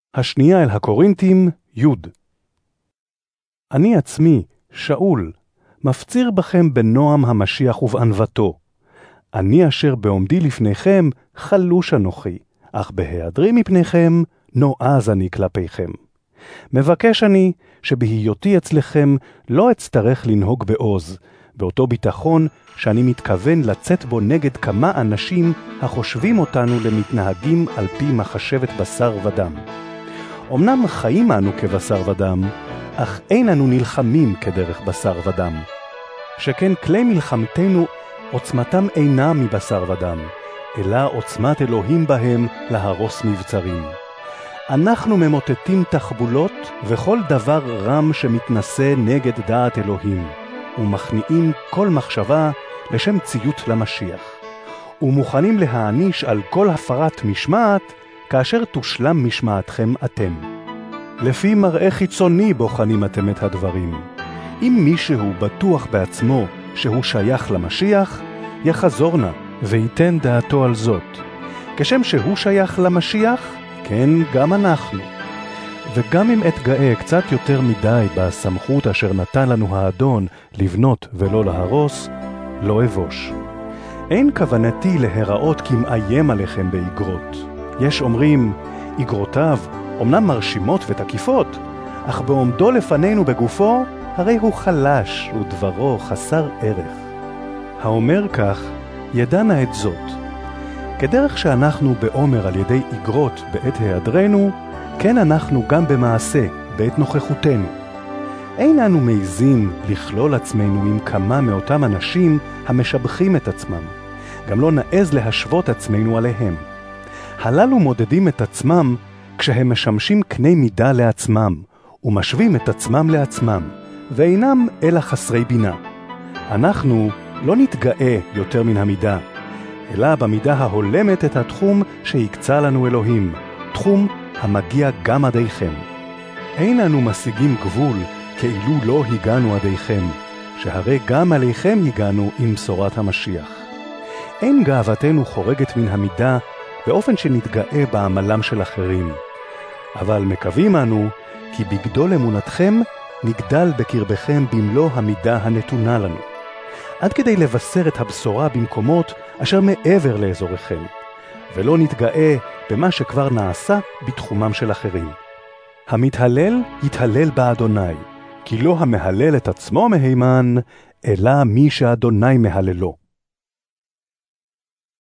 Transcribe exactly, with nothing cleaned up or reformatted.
השנייה אל הקורינתים, י' אני עצמי, שאול, מפציר בכם בנועם המשיח ובענוותו. אני אשר בעומדי לפניכם חלוש אנוכי, אך בהיעדרי מפניכם נועז אני כלפיכם. מבקש אני שבהיותי אצלכם לא אצטרך לנהוג בעוז, באותו ביטחון שאני מתכוון לצאת בו נגד כמה אנשים החושבים אותנו למתנהגים על פי מחשבת בשר ודם. אמנם חיים אנו כבשר ודם, אך אין אנו נלחמים כדרך בשר ודם. שכן כלי מלחמתנו עוצמתם אינה מבשר ודם, אלא עוצמת אלוהים בהם להרוס מבצרים. אנחנו ממוטטים תחבולות וכל דבר רם שמתנשא נגד דעת אלוהים, ומכניעים כל מחשבה לשם ציות למשיח, ומוכנים להעניש על כל הפרת משמעת כאשר תושלם משמעתכם אתם. לפי מראה חיצוני בוחנים אתם את הדברים. אם מישהו בטוח בעצמו שהוא שייך למשיח, יחזור נא וייתן דעתו על זאת. כשם שהוא שייך למשיח, כן גם אנחנו. וגם אם אתגאה קצת יותר מדי בסמכות אשר נתן לנו האדון לבנות ולא להרוס, לא אבוש. אין כוונתי להיראות כמאיים עליכם באגרות. יש אומרים, אגרותיו אמנם מרשימות ותקיפות, אך בעומדו לפנינו בגופו, הרי הוא חלש ודברו חסר ערך. האומר כך, ידענה את זאת. כדרך שאנחנו בעומר על ידי אגרות בעת היעדרנו, כן אנחנו גם במעשה בעת נוכחותנו. אין אנו מעיזים לכלול עצמנו עם כמה מאותם אנשים המשבחים את עצמם. גם לא נעז להשוות עצמנו עליהם. הללו מודדים את עצמם כשהם משמשים קני מידה לעצמם, ומשווים את עצמם לעצמם, ואינם אלא חסרי בינה. אנחנו לא נתגאה יותר מן המידה, אלא במידה ההולמת את התחום שיקצה לנו אלוהים, תחום המגיע גם עדיכם. אין אנו משיגים גבול כאילו לא הגענו עדיכם, שהרי גם עליכם הגענו עם בשורת המשיח. אין גאוותנו חורגת מן המידה באופן שנתגאה בעמלם של אחרים. אבל מקווים אנו כי בגדול אמונתכם נגדל בקרבכם במלוא המידה הנתונה לנו, עד כדי לבשר את הבשורה במקומות אשר מעבר לאזוריכם, ולא נתגאה במה שכבר נעשה בתחומם של אחרים. המתהלל יתהלל באדוני, כי לא המהלל את עצמו מהימן, אלא מי שאדוני מהללו.